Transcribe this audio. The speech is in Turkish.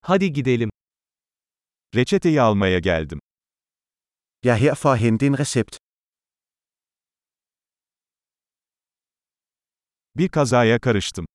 Hadi gidelim. Reçeteyi almaya geldim. Jeg er her for at hente en recept. Bir kazaya karıştım.